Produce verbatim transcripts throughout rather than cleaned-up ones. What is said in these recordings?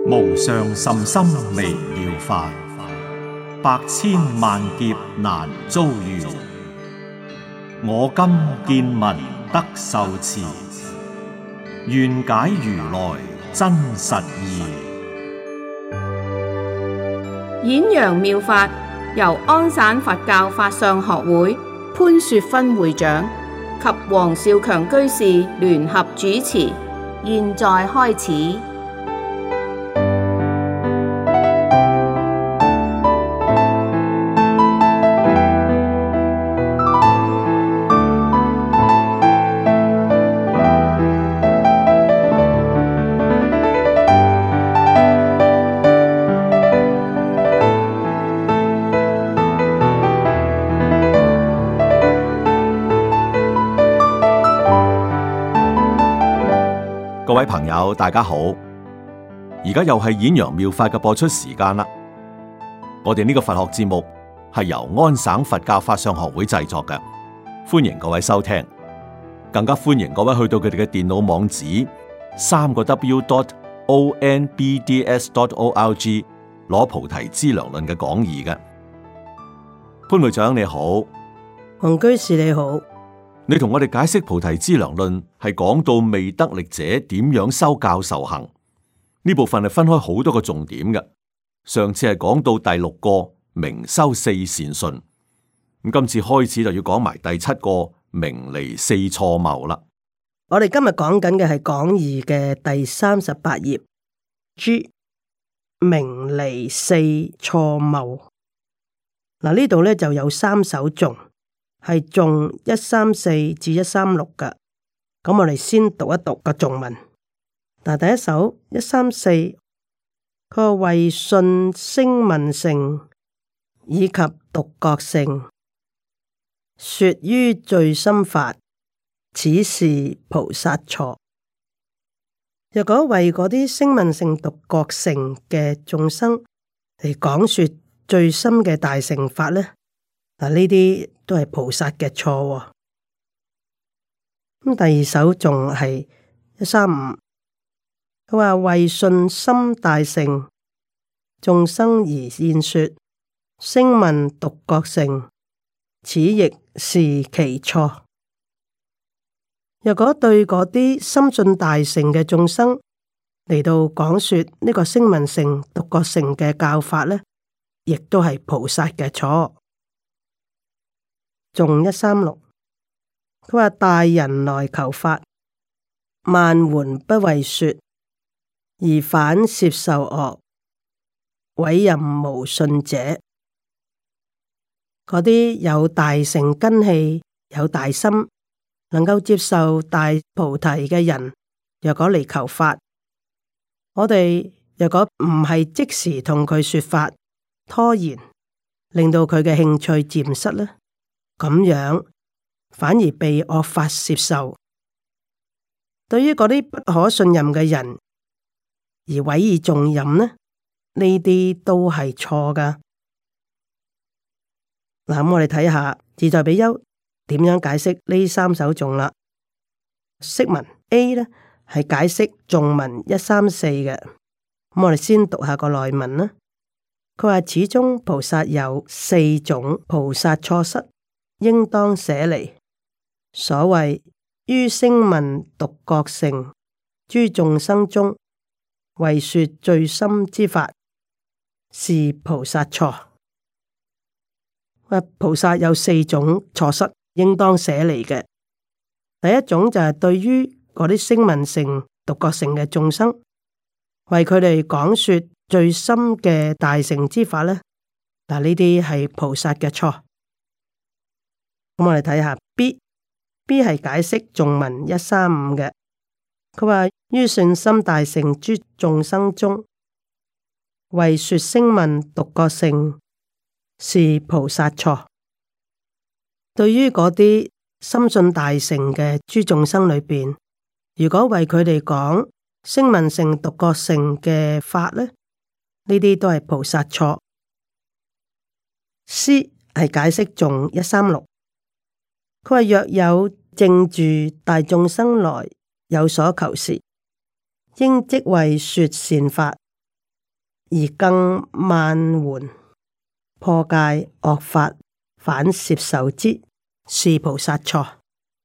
無上甚深微妙法，百千萬劫難遭遇。我今見聞得受持，願解如來真實義。 演揚妙法由安省佛教法相學會潘雪芬會長及黃少強居士聯合主持，現在開始。 各位朋友，大家好！而家又係演揚妙法嘅播出時間啦。我哋呢個佛學節目係由安省佛教法相學會製作嘅，歡迎各位收聽。更加歡迎各位去到佢哋嘅電腦網址三個 W dot O N B D S dot O R G 攞菩提資糧論嘅講義嘅。潘會長你好， 黃居士你好。 你同我哋解釋菩提資糧論係講到未得力者點樣修教受行，呢部分係分開好多個重點嘅。上次係講到第六個明修四善順，咁今次開始就要講埋第七個明離四錯謬啦。 我哋今日講緊嘅係講義嘅第三十八頁，G 明離四錯謬。嗱，呢度咧就有三首頌。係頌一三四至一三六㗎，咁我哋先讀一讀個頌文。嗱，第一首一三四，佢話為信聲聞乘以及獨覺乘，說於最深法，此是菩薩錯。若果為嗰啲聲聞乘、獨覺乘嘅眾生嚟講說最深嘅大乘法呢，嗱，呢啲都係菩薩嘅錯。咁第二首仲係一三五，佢話為信心大乘眾生而現說聲聞獨覺乘，此亦是其錯。若果對嗰啲深信大乘嘅眾生嚟到講說呢個聲聞乘、獨覺乘嘅教法呢，亦都係菩薩嘅錯。頌一三六，佢話大人來求法，萬緣不為說，而反攝受惡，委任無信者。嗰啲有大乘根器、有大心，能夠接受大菩提嘅人，若果嚟求法，我哋若果唔係即時同佢說法，拖延，令到佢嘅興趣漸失呢，咁樣反而被惡法攝受。對於嗰啲不可信任嘅人而委以重任呢，呢啲都係錯㗎。嗱，咁我哋睇下自在比丘點樣解釋呢三首頌啦。釋文 A 呢係解釋頌文一三四嘅，咁我哋先讀下個內文啦。佢話始終菩薩有四種菩薩錯失，應當捨離。所謂於聲聞獨覺乘諸眾生中，為說最深之法，是菩薩錯。菩薩有四種錯失，應當捨離嘅。第一種就係對於嗰啲聲聞乘、獨覺乘嘅眾生，為佢哋講說最深嘅大乘之法呢，嗱，呢啲係菩薩嘅錯。咁我哋睇下 B，B 係解釋頌文一三五嘅。佢話於信心大乘諸眾生中，為說聲聞獨覺乘，是菩薩錯。對於嗰啲深信大乘嘅諸眾生裏邊，如果為佢哋講聲聞乘、獨覺乘嘅法呢，呢啲都係菩薩錯。C 係解釋頌一三六。佢話若有正住大眾生來有所求時，應即為說善法， 而更慢緩破戒惡法，反攝受之，是菩薩錯。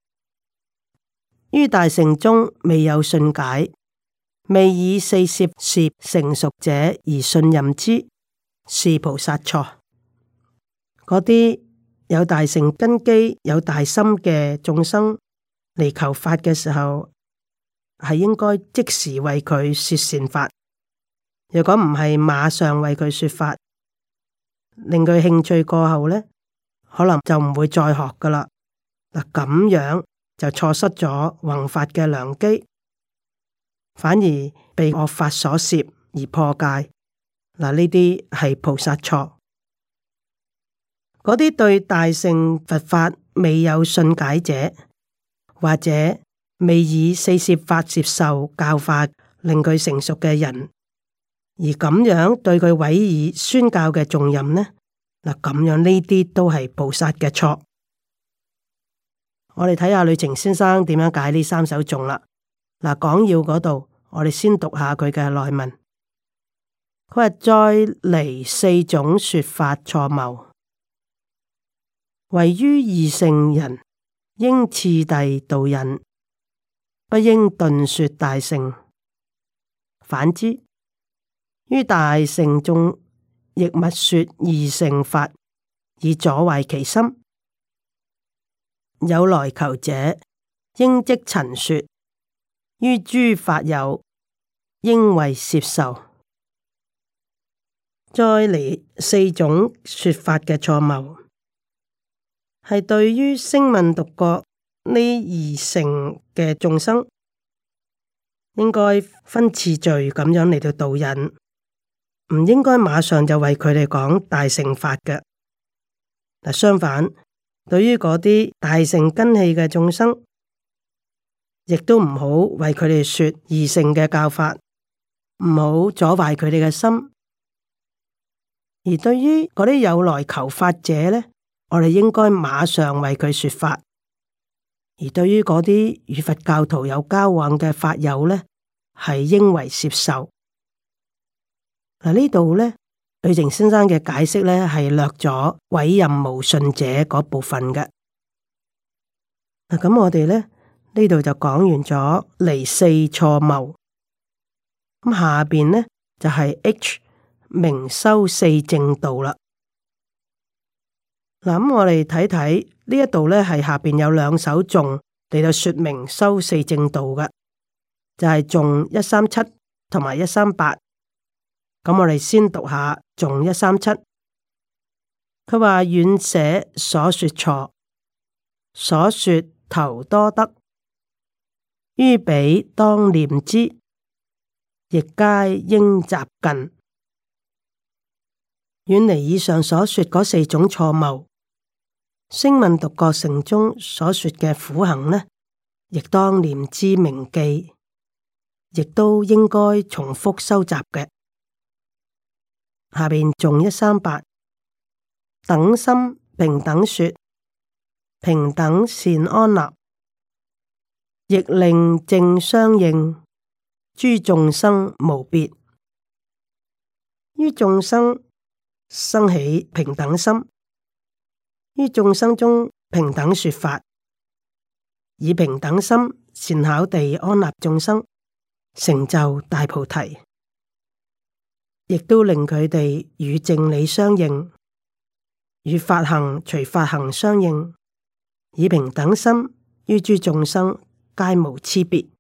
於大乘中未有信解，未以四攝攝成熟者而信任之，是菩薩錯。嗰啲有大乘根基、有大心嘅眾生嚟求法嘅時候，係應該即時為佢說善法。如果唔係，馬上為佢說法，令佢興趣過後呢，可能就唔會再學噶啦。嗱，咁樣就錯失咗弘法嘅良機，反而被惡法所攝而破戒。嗱，呢啲係菩薩錯。嗰啲對大乘佛法未有信解者，或者未以四攝法接受教化，令佢成熟嘅人，而咁樣對佢委以宣教嘅重任呢？嗱，咁樣呢啲都係菩薩嘅錯。我哋睇下呂澄先生點樣解呢三首頌啦。嗱，講要嗰度，我哋先讀下佢嘅內文。佢話再離四種說法錯謬，唯於二乘人應次第導引，不應頓說大乘。反之，於大乘中亦勿說二乘法，以阻壞其心。有來求者，應即陳說。於諸法有，應為攝受。再離四種說法嘅錯謬，係對於聲聞獨覺呢二乘嘅眾生，應該分次序咁樣嚟到導引，唔應該馬上就為佢哋講大乘法嘅。嗱，相反，對於嗰啲大乘根器嘅眾生，亦都唔好為佢哋說二乘嘅教法，唔好阻壞佢哋嘅心。而對於嗰啲有來求法者呢，我哋應該馬上為佢說法。而對於嗰啲與佛教徒有交往嘅法友呢，係應為攝受。嗱，呢度呢，呂澄先生嘅解釋呢，係略咗委任無信者嗰部分嘅。嗱，咁我哋呢，呢度就講完咗離四錯謬。咁下邊呢，就係、是、H 明修四正道啦。嗱，咁我哋睇睇呢一度呢，係下邊有兩首頌嚟到說明修四正道嘅，就係頌一三七同埋一三八。咁我哋先讀下頌一三七。佢話遠捨所說錯，所說頭多得，於彼當念之，亦皆應習近。遠離以上所說嗰四種錯謬，聲聞獨覺乘中所說嘅苦行呢，亦當念之銘記，亦都應該重複收集嘅。下邊頌一三八，等心平等說，平等善安立，亦令正相應，諸眾生無別，於眾生生起平等心，於眾生中平等說法，以平等心善巧地安立眾生，成就大菩提，亦都令佢哋與正理相應，與法行隨法行相應，以平等心於諸眾生皆無差別。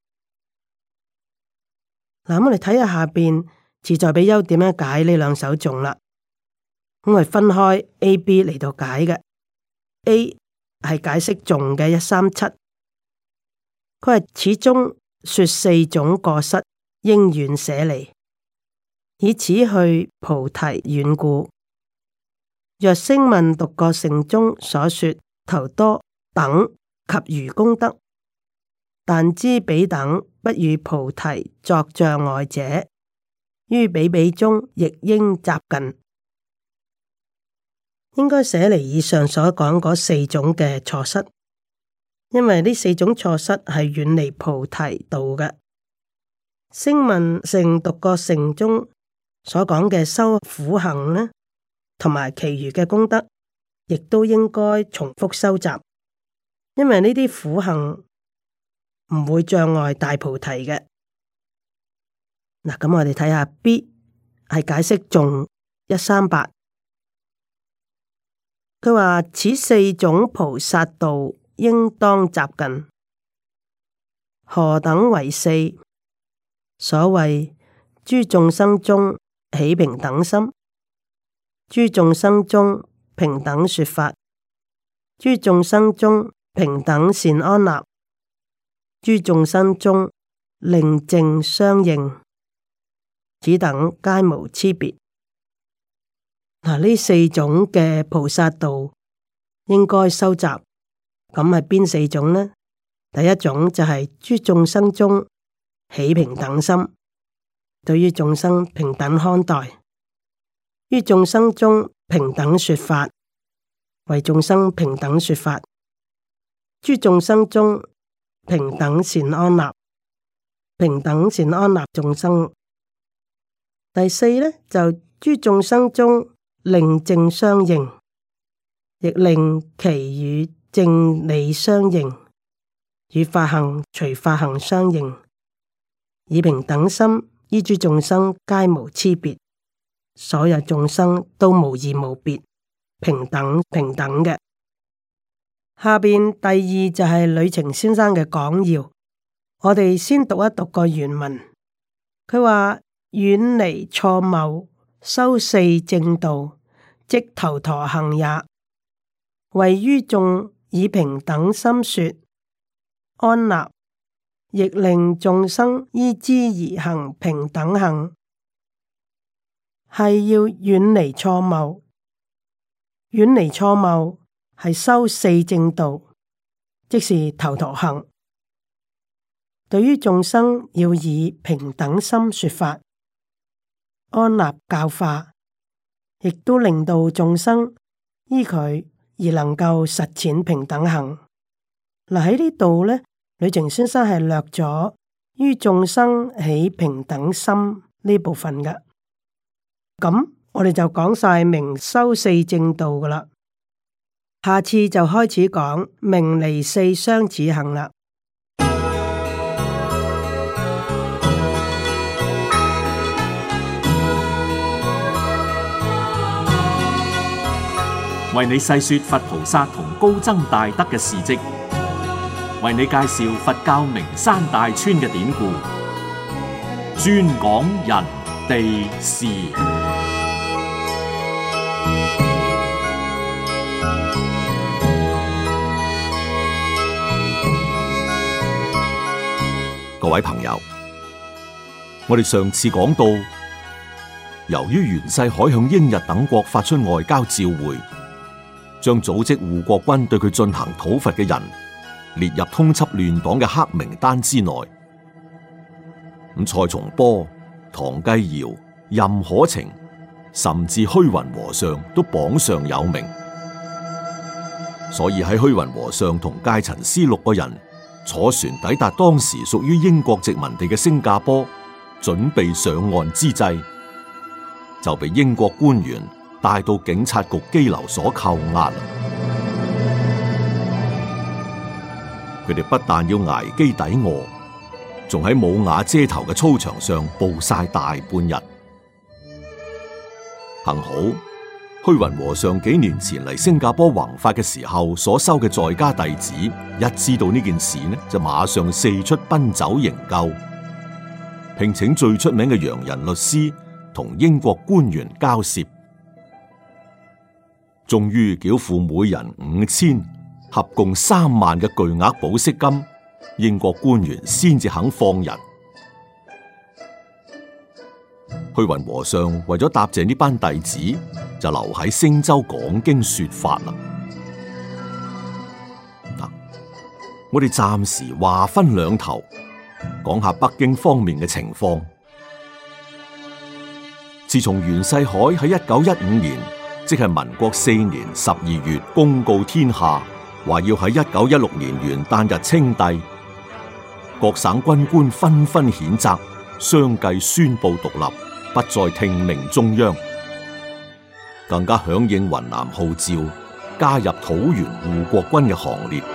嗱，我哋睇下下邊自在比丘點樣解呢兩首頌啦。咁我哋分開 A、B 嚟到解嘅。A 係解釋頌嘅一三七，佢係始終說四種過失應遠捨離，以此去菩提遠故。若聲聞獨覺乘中所說頭多等及餘功德，但知彼等不與菩提作障礙者，於彼彼中亦應習近。應該捨離以上所講嗰四種嘅錯失，因為呢四種錯失係遠離菩提道嘅。聲聞乘獨覺乘中所講嘅修苦行呢，同埋其餘嘅功德，亦都應該重複修習，因為呢啲苦行唔會障礙大菩提嘅。嗱，咁我哋睇下 B 係解釋頌一三八，佢話此四種菩薩道應當習近，何等為四？所謂諸眾生中起平等心，諸眾生中平等說法，諸眾生中平等善安立，諸眾生中令正相應，此等皆無差別。嗱，呢四種嘅菩薩道應該修習，咁係邊四種呢？第一種就係諸眾生中起平等心，對於眾生平等看待，於眾生中平等說法，為眾生平等說法，諸眾生中平等善安立，平等善安立眾生。第四呢，就諸眾生中令正相應，亦令其與正理相應，與法行隨法行相應，以平等心依諸眾生皆無差別，所有眾生都無異無別，平等平等嘅。下邊第二就係呂澂先生嘅講要，我哋先讀一讀個原文。佢話遠離錯謬，修四正道，即頭陀行也。為於眾以平等心說安立，亦令眾生依之而行平等行，係要遠離錯謬。遠離錯謬係修四正道，即是頭陀行。對於眾生要以平等心說法，安立教化，亦都令到眾生依佢而能夠實踐平等行。嗱，喺呢度呢，呂澂先生係略咗於眾生起平等心呢部分嘅。咁我哋就講晒明修四正道噶啦，下次就開始講明離四相似行啦。 為你細說佛菩薩同高僧大德嘅事跡，為你介紹佛教名山大川嘅典故，專講人地事。 各位朋友，我哋上次講到，由於袁世凱向英日等國發出外交照會，將組織護國軍對佢進行討伐嘅人列入通緝亂黨嘅黑名單之內。咁蔡松坡、唐繼堯、任可晴，甚至虛雲和尚都榜上有名。所以喺虛雲和尚同戒塵師六個人坐船抵達當時屬於英國殖民地嘅新加坡，準備上岸之際，就被英國官員帶到警察局羈留所扣押。佢哋不但要挨飢抵餓，仲喺冇瓦遮頭嘅操場上暴曬大半日。幸好虛雲和尚幾年前嚟新加坡弘法嘅時候所收嘅在家弟子，一知道呢件事呢，就馬上四出奔走營救，聘請最出名嘅洋人律師同英國官員交涉，終於繳付每人五千，合共三萬嘅巨額保釋金，英國官員先至肯放人。虛雲和尚為咗答謝呢班弟子，就留喺星洲講經說法啦。嗱，我哋暫時話分兩頭，講下北京方面嘅情況。自從袁世凱喺一九一五年，即係民國四年十二月公告天下，話要喺一九一六年元旦日稱帝，各省軍官紛紛譴責，相繼宣布獨立。 不再聽命中央，更加響應雲南號召，加入土原護國軍嘅行列。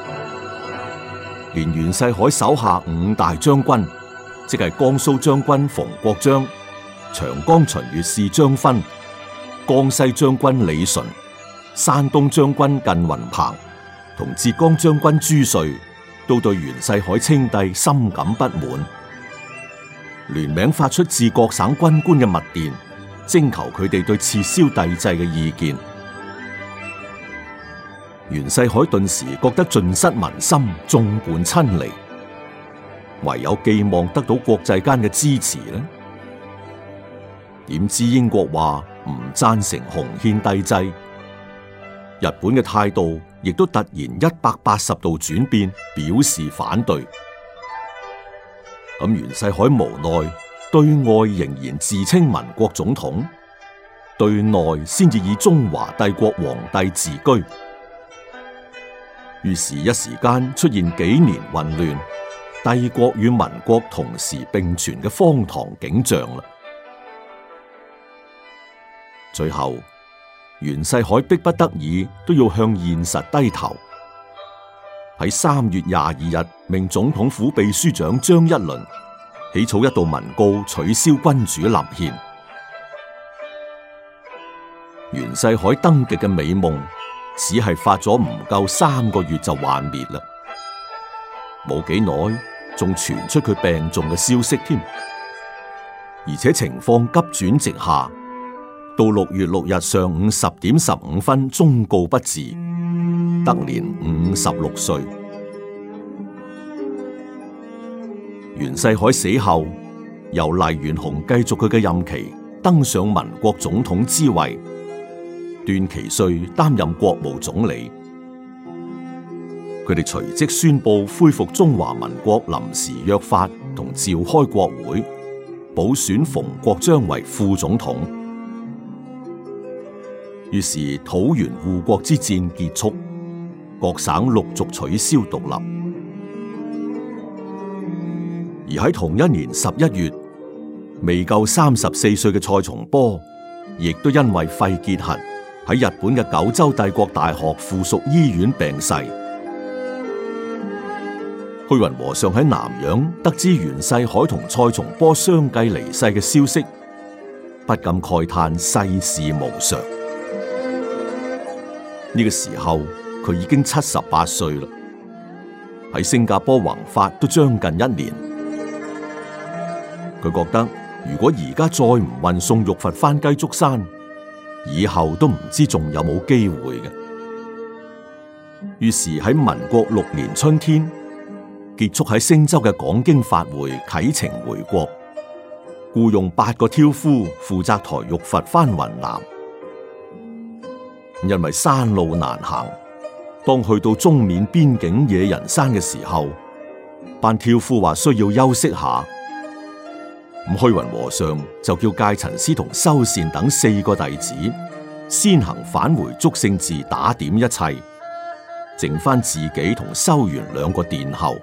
連袁世凱手下五大將軍，即係江蘇將軍馮國璋、長江巡閱使張勳、江西將軍李純、山東將軍靳雲鵬同浙江將軍朱瑞，都對袁世凱稱帝深感不滿，聯名發出致各省軍官嘅密電，徵求佢哋對撤銷帝制嘅意見。袁世凱頓時覺得盡失民心，眾叛親離，唯有寄望得到國際間嘅支持呢？點知英國話唔贊成洪憲帝制，日本嘅態度亦都突然一百八十度轉變，表示反對。咁袁世凱無奈，對外仍然自稱民國總統，對內先至以中華帝國皇帝自居。於是，一時間出現幾年混亂，帝國與民國同時並存嘅荒唐景象啦。最後，袁世凱迫不得已都要向現實低頭。喺三月廿二日，命總統府秘書長張一倫起草一道文告，取消君主立憲。袁世凱登極嘅美夢，只係發咗唔夠三個月就幻滅啦。冇幾耐，仲傳出佢病重嘅消息添，而且情況急轉直下。到六月六日上午十點十五分，終告不治，得年五十六歲。袁世凱死後，由黎元洪繼續佢嘅任期，登上民國總統之位。段祺瑞擔任國務總理，佢哋隨即宣布恢復中華民國臨時約法，同召開國會，補選馮國璋為副總統。於是土原護國之戰結束，各省陸續取消獨立。而喺同一年十一月，未夠三十四歲嘅蔡松坡，亦都因為肺結核，喺日本嘅九州帝國大學附屬醫院病逝。虛雲和尚喺南洋得知袁世凱同蔡松坡相繼離世嘅消息，不禁慨嘆世事無常。呢個時候佢已經七十八歲啦，喺新加坡弘法都將近一年。佢覺得如果而家再唔運送玉佛返雞足山，以後都唔知仲有冇機會嘅。於是喺民國六年春天結束喺星洲嘅講經法會，啟程回國，僱用八個挑夫負責抬玉佛返雲南。因為山路難行，當去到中緬邊境野人山嘅時候，班挑夫話需要休息下。咁虛雲和尚就叫戒塵師同修善等四個弟子先行返回祝聖寺打點一切，剩翻自己同修緣兩個殿後。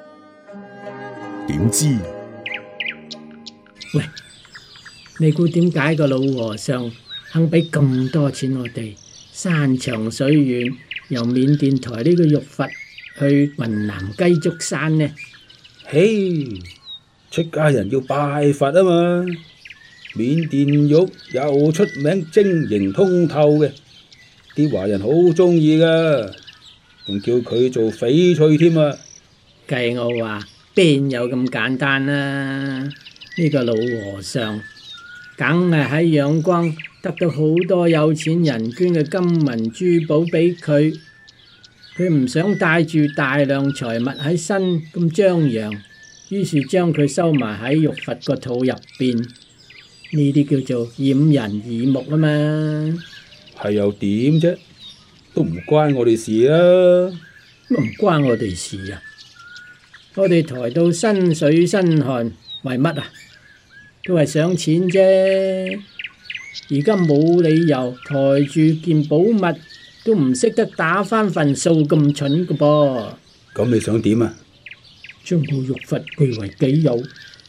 點知？ 喂，你估點解個老和尚肯俾咁多錢我哋？山長水遠，由緬甸抬呢個玉佛去雲南雞足山呢？ 嘿，出家人要拜佛啊嘛！緬甸玉又出名晶瑩通透嘅，啲華人好中意噶，仲叫佢做翡翠添啊！ 計我話邊有咁簡單啊？呢個老和尚梗係喺仰光得到好多有錢人捐嘅金銀珠寶俾佢，佢唔想帶住大量財物喺身咁張揚，於是將佢收埋喺玉佛個肚入邊，呢啲叫做掩人耳目啊嘛。 係又點啫？都唔關我哋事啊！ 唔關我哋事啊！我哋抬到身水身汗為乜啊？都係想錢啫。而家冇理由抬住件寶物都唔識得打返份數咁蠢㗎噃。 咁你想點啊？ 將個玉佛據為己有，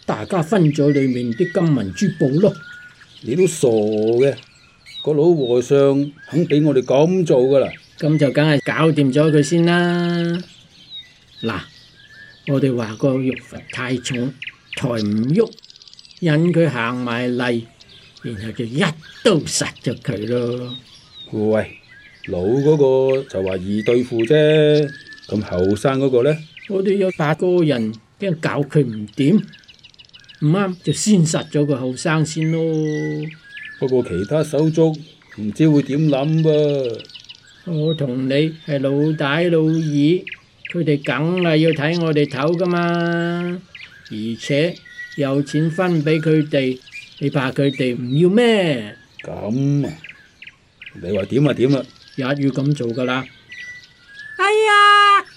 大家分咗裏面啲金銀珠寶咯。 你都傻嘅，個老和尚肯俾我哋咁做噶啦。 咁就梗係搞掂咗佢先啦。嗱，我哋話個玉佛太重，抬唔喐，引佢行埋嚟，然後就一刀殺咗佢咯。 喂，老嗰個就話易對付啫，咁後生嗰個呢？ 我哋有八個人，驚搞佢唔掂，唔啱就先殺咗個後生先咯。 不過其他手足唔知會點諗噃。 我同你係老大老二，佢哋梗係要睇我哋頭噶嘛，而且有錢分俾佢哋，你怕佢哋唔要咩？ 咁啊，你話點啊點啊， 也要咁做噶啦。 哎呀，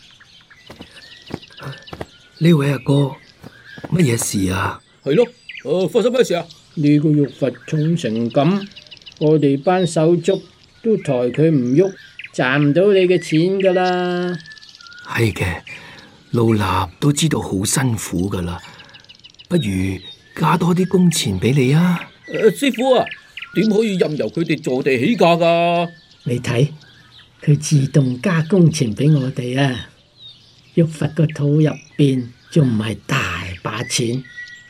呢位阿哥，乜嘢事啊？ 係咯，誒，發生咩事啊？ 呢個玉佛重成咁，我哋班手足都抬佢唔喐，賺唔到你嘅錢噶啦。 係嘅，老衲都知道好辛苦噶啦，不如加多啲工錢俾你啊！ 誒、呃，師傅啊，點可以任由佢哋坐地起價噶？ 你睇佢自動加工錢俾我哋啊！玉佛個肚入邊仲唔係大把錢？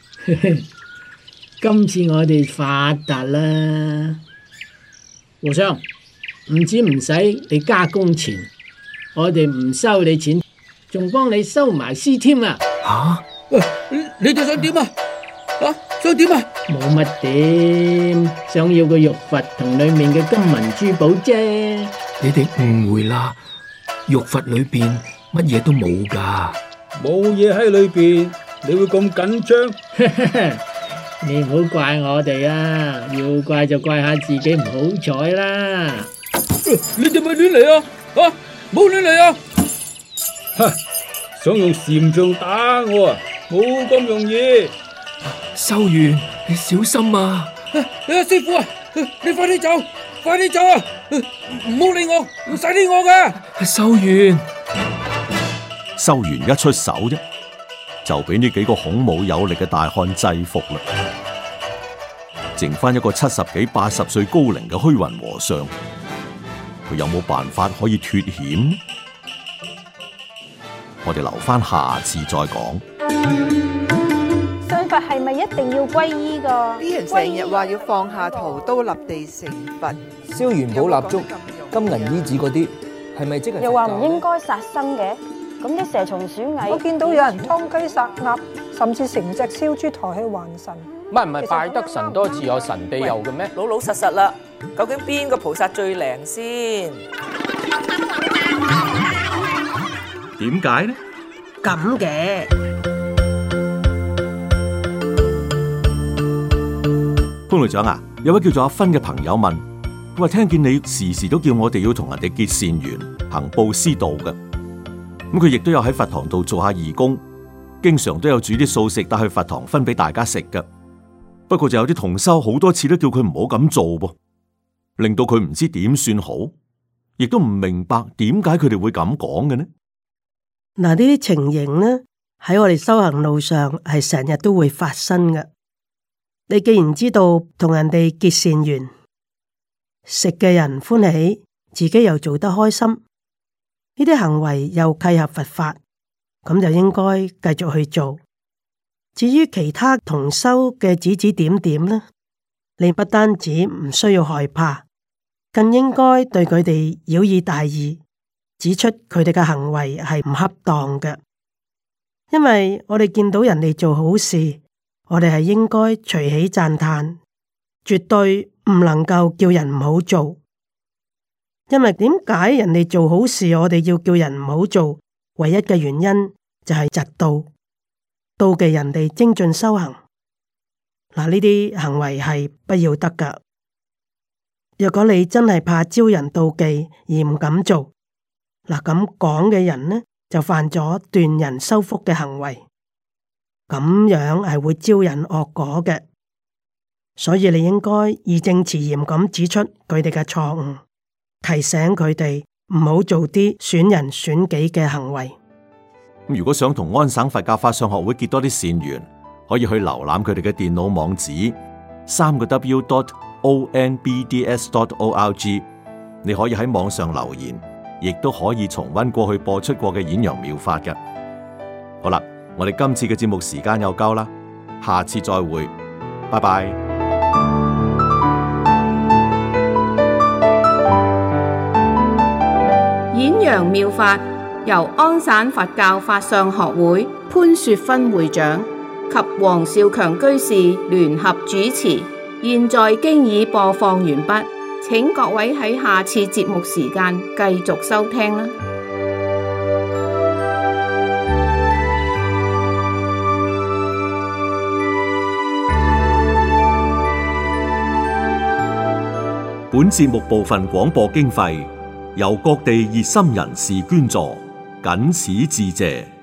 今次我哋發達啦！和尚，唔止唔使你加工錢，我哋唔收你錢，仲幫你收埋屍添啊！ 吓？ 喂，你哋想點啊？啊，想點啊？ 冇乜點，想要個玉佛同裏面嘅金銀珠寶啫。 你哋誤會啦，玉佛裏邊乜嘢都冇噶。 冇嘢喺裏邊，你會咁緊張？ 你唔好怪我哋啊，要怪就怪下自己唔好彩啦。 你哋咪亂嚟啊！啊，冇亂嚟啊！ 哈，想用禪杖打我啊？冇咁容易。 修緣，你小心啊！ 啊，師傅啊，你快啲走，快啲走啊！唔好理我，唔使理我噶。 修緣， 修緣一出手啫，就俾呢幾個孔武有力嘅大漢制服啦。剩翻一個七十幾、八十歲高齡嘅虛雲和尚，佢有冇辦法可以脫險？我哋留翻下次再講。 信佛係咪一定要皈依噶？ 啲人成日話要放下屠刀立地成佛， 燒元寶蠟燭、金銀衣紙嗰啲，係咪即係？ 又話唔應該殺生嘅，咁啲蛇蟲鼠蟻， 我見到有人劏雞殺鴨，甚至成隻燒豬抬去還神。 唔係唔係，拜得神多自有神庇佑嘅咩？ 老老實實啦，究竟邊個菩薩最靈先？ 點解呢？ 咁嘅潘會長啊，有位叫做阿芬嘅朋友問，佢話聽見你時時都叫我哋要同人哋結善緣、行布施道嘅，咁佢亦都有喺佛堂度做下義工，經常都有煮啲素食帶去佛堂分俾大家食嘅。不過就有啲同修好多次都叫佢唔好咁做噃，令到佢唔知點算好，亦都唔明白點解佢哋會咁講嘅呢？ 嗱，呢啲情形呢喺我哋修行路上係成日都會發生嘅。你既然知道同人哋結善緣，食嘅人歡喜，自己又做得開心，呢啲行為又契合佛法，咁就應該繼續去做。至於其他同修嘅指指點點呢，你不單止唔需要害怕，更應該對佢哋曉以大義，指出佢哋嘅行為係唔恰當嘅。因為我哋見到人哋做好事，我哋係應該隨喜讚嘆，絕對唔能夠叫人唔好做。因為點解人哋做好事，我哋要叫人唔好做？唯一嘅原因就係嫉妒。妒忌人哋精進修行，嗱，呢啲行為係不要得噶。若果你真係怕招人妒忌而唔敢做，嗱，咁講嘅人呢就犯咗斷人修福嘅行為，咁樣係會招人惡果嘅。所以你應該義正辭嚴咁指出佢哋嘅錯誤，提醒佢哋唔好做啲損人損己嘅行為。 如果想同安省佛教法相學會結多啲善緣， 可以去瀏覽佢哋嘅電腦網址三個 W dot O N B D S dot O R G。你可以喺網上留言，亦都可以重溫過去播出過嘅演揚妙法嘅。好啦，我哋今次嘅節目時間又夠啦，下次再會，拜拜。 演揚妙法由安省佛教法相學會潘雪芬會長及黃少強居士聯合主持，現在經已播放完畢，請各位喺下次節目時間繼續收聽啦。 本節目部分廣播經費由各地熱心人士捐助，謹此致謝。